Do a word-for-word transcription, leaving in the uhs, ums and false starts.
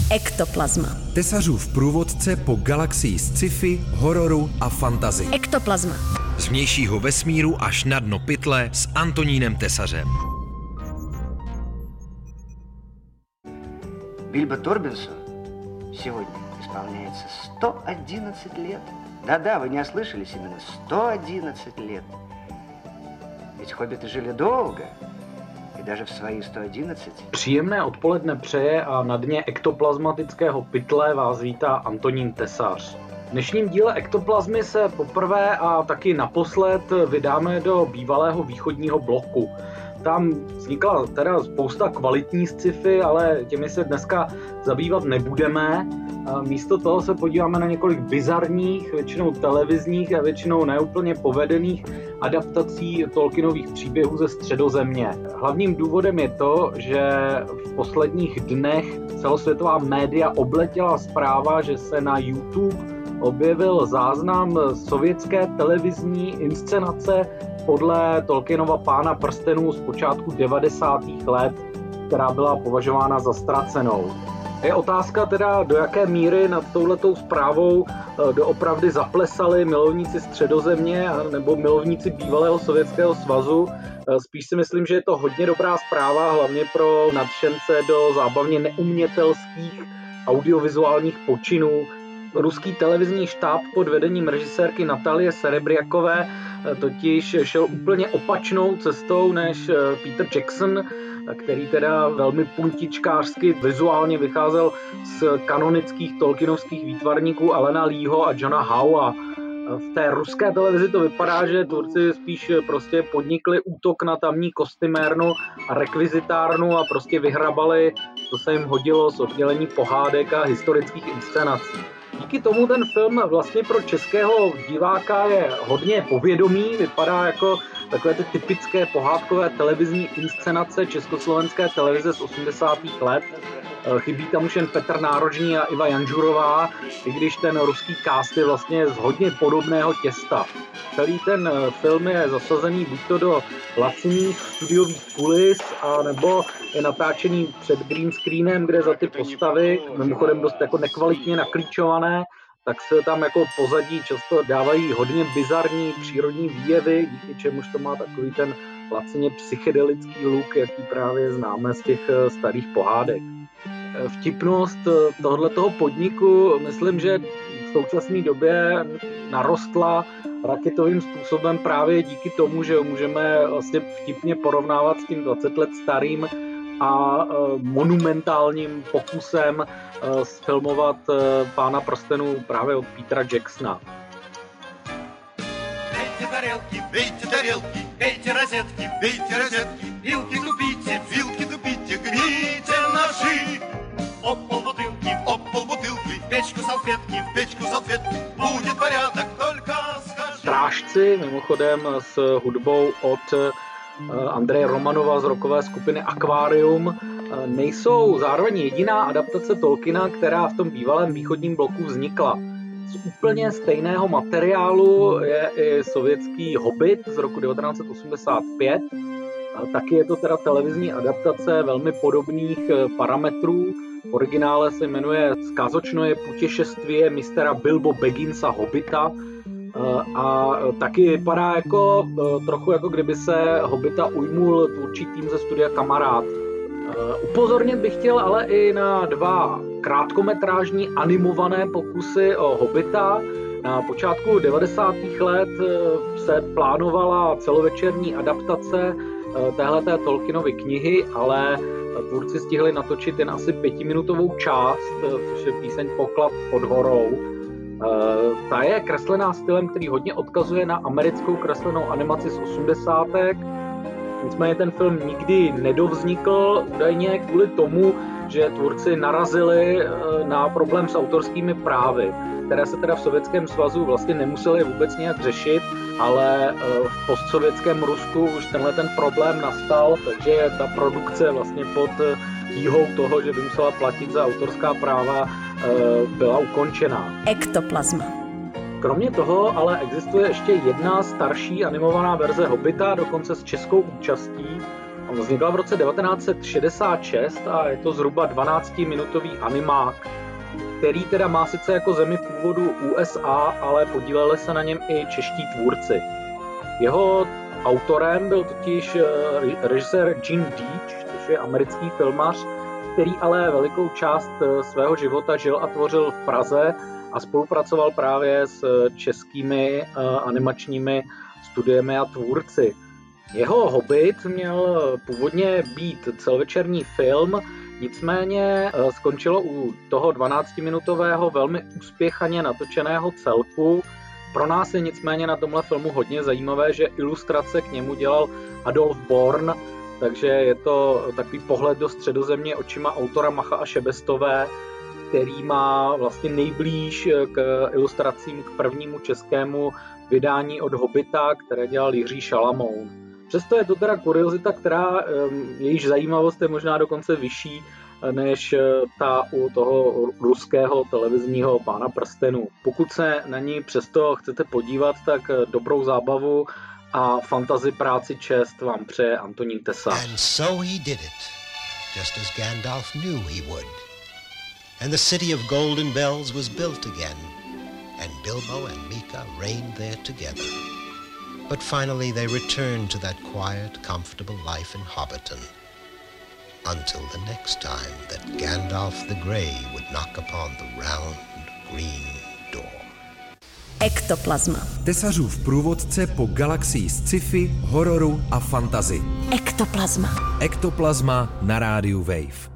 Ektoplazma. Tesařův průvodce po galaxii sci-fi, hororu a fantasy. Ektoplazma. Z vnějšího vesmíru až na dno pytle s Antonínem Tesařem. Бильбо Торбинсу сегодня исполняется сто одиннадцать лет. Да-да, вы не ослышались, именно сто одиннадцать лет. Ведь хоббиты жили долго, и даже в свои сто одиннадцать. Příjemné odpoledne přeje a na dně ektoplazmatického pytle vás vítá Antonín Tesař. V dnešním díle Ektoplazmy se poprvé a taky naposled vydáme do bývalého východního bloku. Tam vznikla teda spousta kvalitní sci-fi, ale těmi se dneska zabývat nebudeme. Místo toho se podíváme na několik bizarních, většinou televizních a většinou neúplně povedených adaptací Tolkienových příběhů ze Středozemě. Hlavním důvodem je to, že v posledních dnech celosvětová média obletěla zpráva, že se na YouTube objevil záznam sovětské televizní inscenace podle Tolkienova Pána prstenů z počátku devadesátých let, která byla považována za ztracenou. Je otázka teda, do jaké míry nad touhletou zprávou doopravdy zaplesali milovníci Středozemě nebo milovníci bývalého Sovětského svazu. Spíš si myslím, že je to hodně dobrá zpráva, hlavně pro nadšence do zábavně neumětelských audiovizuálních počinů. Ruský televizní štáb pod vedením režisérky Natalie Serebriakové totiž šel úplně opačnou cestou než Peter Jackson, který teda velmi puntičkářsky vizuálně vycházel z kanonických tolkienovských výtvarníků Alana Leeho a Johna Howa. V té ruské televizi to vypadá, že Turci spíš prostě podnikli útok na tamní kostymérnu a rekvizitárnu a prostě vyhrabali, co se jim hodilo z oddělení pohádek a historických inscenací. Díky tomu ten film vlastně pro českého diváka je hodně povědomý, vypadá jako takové ty typické pohádkové televizní inscenace československé televize z osmdesátých let. Chybí tam už jen Petr Nárožný a Iva Janžurová, i když ten ruský cast je vlastně z hodně podobného těsta. Celý ten film je zasazený buď to do laciných studiových kulis, a nebo je natáčený před green screenem, kde za ty postavy, mimochodem dost jako nekvalitně naklíčované, tak se tam jako pozadí často dávají hodně bizarní přírodní výjevy, díky čemuž to má takový ten lacině psychedelický look, jaký právě známe z těch starých pohádek. Vtipnost tohoto podniku, myslím, že v současné době narostla raketovým způsobem právě díky tomu, že můžeme vlastně vtipně porovnávat s tím dvacet let starým a monumentálním pokusem sfilmovat Pána prstenů právě od Petera Jacksona. Бейте тарелки, бейте тарелки, бейте розетки, бейте розетки, вилки тупите, вилки тупите, гните ножи. Об пол бутылки, об пол бутылки, в печку салфетки, в печку салфетки, будет порядок, только скажи. Strážci, mimochodem s hudbou od Andreje Romanova z rockové skupiny Aquarium, nejsou zároveň jediná adaptace Tolkiena, která v tom bývalém východním bloku vznikla. Z úplně stejného materiálu je i sovětský Hobbit z roku devatenáct set osmdesát pět. Taky je to teda televizní adaptace velmi podobných parametrů. V originále se jmenuje Skazočnoje putešestvie mistera Bilbo Bagginsa Hobbita a taky vypadá jako trochu jako kdyby se Hobbita ujmul tvůrčí tým ze studia Kamarád. Upozornit bych chtěl ale i na dva krátkometrážní animované pokusy o Hobbita. Na počátku devadesátých let se plánovala celovečerní adaptace téhleté Tolkienovy knihy, ale tvůrci stihli natočit jen asi pětiminutovou část, což je píseň Poklad pod horou. Ta je kreslená stylem, který hodně odkazuje na americkou kreslenou animaci z osmdesátek. Nicméně ten film nikdy nedovznikl, údajně kvůli tomu, že tvůrci narazili na problém s autorskými právy, které se teda v Sovětském svazu vlastně nemuseli vůbec nějak řešit, ale v postsovětském Rusku už tenhle ten problém nastal, takže ta produkce vlastně pod tíhou toho, že by musela platit za autorská práva, byla ukončená. Ektoplazma. Kromě toho ale existuje ještě jedna starší animovaná verze Hobbita, dokonce s českou účastí. Vznikla v roce devatenáct set šedesát šest a je to zhruba dvanáctiminutový animák, který teda má sice jako zemi původu U S A, ale podíleli se na něm i čeští tvůrci. Jeho autorem byl totiž režisér Gene Deitch, což je americký filmař, který ale velikou část svého života žil a tvořil v Praze a spolupracoval právě s českými animačními studiemi a tvůrci. Jeho Hobbit měl původně být celovečerní film, nicméně skončilo u toho dvanáctiminutového velmi úspěchaně natočeného celku. Pro nás je nicméně na tomhle filmu hodně zajímavé, že ilustrace k němu dělal Adolf Born, takže je to takový pohled do Středozemě očima autora Macha a Šebestové, který má vlastně nejblíž k ilustracím k prvnímu českému vydání od Hobita, které dělal Jiří Šalamoun. Přesto je to teda kuriozita, která jejíž zajímavost je možná dokonce vyšší než ta u toho ruského televizního Pána prstenů. Pokud se na ní přesto chcete podívat, tak dobrou zábavu a fantasy práci čest vám přeje Antonín Tesař. And so he did it, just as Gandalf knew he would. And the city of golden bells was built again, and Bilbo and Mika reigned there together. But finally they returned to that quiet, comfortable life in Hobbiton, until the next time that Gandalf the Grey would knock upon the round, green door. Ektoplazma. Tesařův průvodce po galaxii sci-fi, hororu a fantasy. Ektoplazma. Ektoplazma na rádiu Wave.